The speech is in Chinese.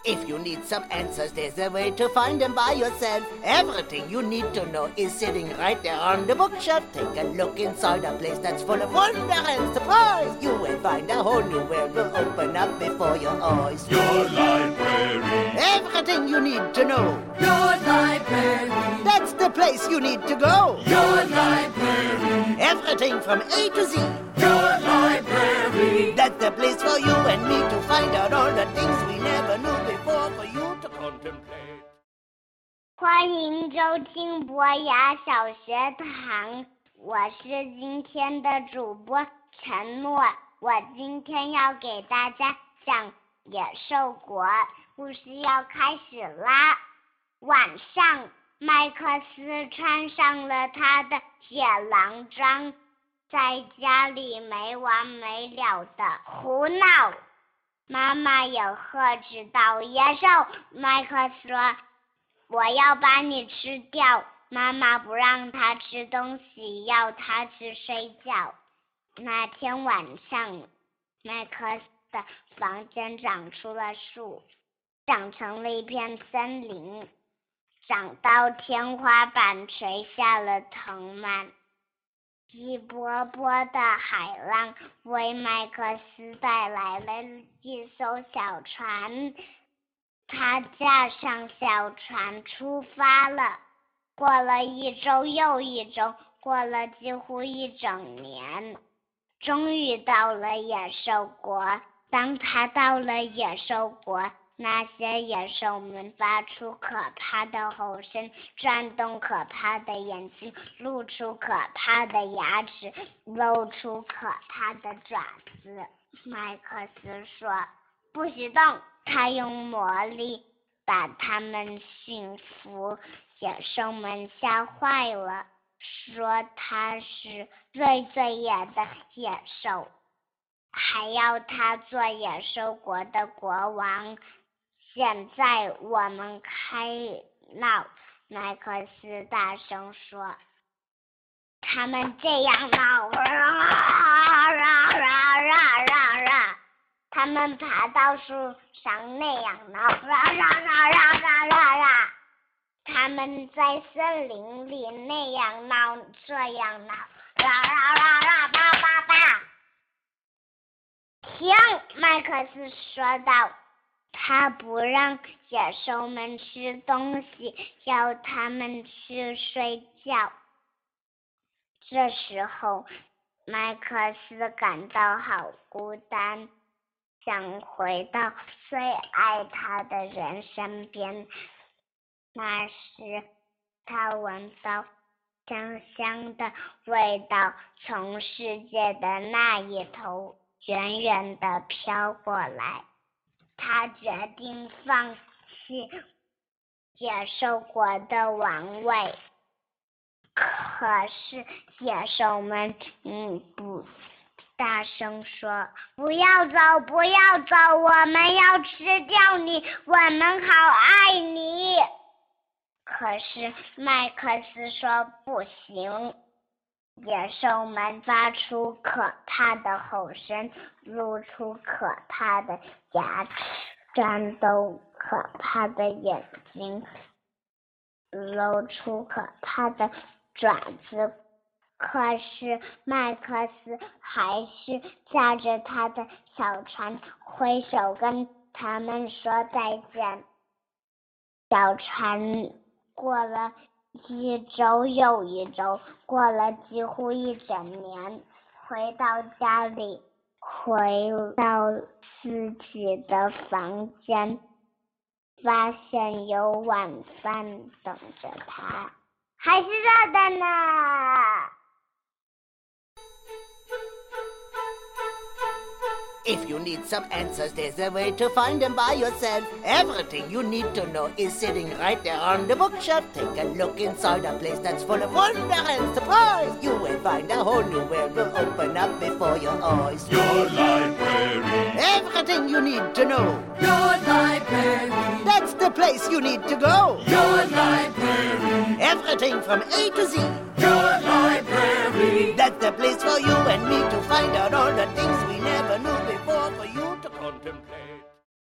If you need some answers, there's a way to find them by yourself. Everything you need to know is sitting right there on the bookshelf. Take a look inside a place that's full of wonder and surprise. You will find a whole new world will open up before your eyes. Your library. Everything you need to know. Your library. That's the place you need to go. Your library. Everything from A to Z. Your library. That's the place for you and me to find out all the things we never knew before for you to contemplate. 欢迎收听博雅小学堂，我是今天的主播陈诺。我今天要给大家讲野兽国，故事要开始啦。晚上，麦克斯穿上了他的铁狼装，在家里没完没了的胡闹。妈妈也呵斥道：“野兽！”麦克斯说：“我要把你吃掉。”妈妈不让他吃东西，要他去睡觉。那天晚上，麦克斯的房间长出了树，长成了一片森林，长到天花板垂下了藤蔓。一波波的海浪为麦克斯带来了一艘小船，他驾上小船出发了。过了一周又一周，过了几乎一整年，终于到了野兽国。当他到了野兽国，那些野兽们发出可怕的吼声，转动可怕的眼睛，露出可怕的牙齿，露出可怕的爪子。麦克斯说：“不许动！”他用魔力把它们驯服。野兽们吓坏了，说他是最野的野兽，还要他做野兽国的国王。现在我们开闹！麦克斯大声说。他们这样闹，他们爬到树上那样闹，他们在森林里那样闹，这样闹，叭叭叭！停！麦克斯说道。他不让野兽们吃东西，要他们去睡觉。这时候，麦克斯感到好孤单，想回到最爱他的人身边。那时，他闻到香香的味道从世界的那一头远远地飘过来。他决定放弃野兽国的王位，可是野兽们不大声说：“不要走，不要走，我们要吃掉你，我们好爱你。”可是麦克斯说不行。野兽们发出可怕的吼声，露出可怕的牙齿，转动可怕的眼睛，露出可怕的爪子。可是麦克斯还是驾着他的小船，挥手跟他们说再见。小船过了一周又一周，过了几乎一整年，回到家里，回到自己的房间，发现有晚饭等着他，还是热的呢。 If you need some answers, there's a way to find them by yourself. Everything you need to know is sitting right there on the bookshelf. Take a look inside a place that's full of wonder and surprise. You will find a whole new world will open up before your eyes. Your library. Everything you need to know. Your library. That's the place you need to go. Your library. Everything from A to Z. Your library. That's the place for you and me to find out all the things we never knew before for you to contemplate.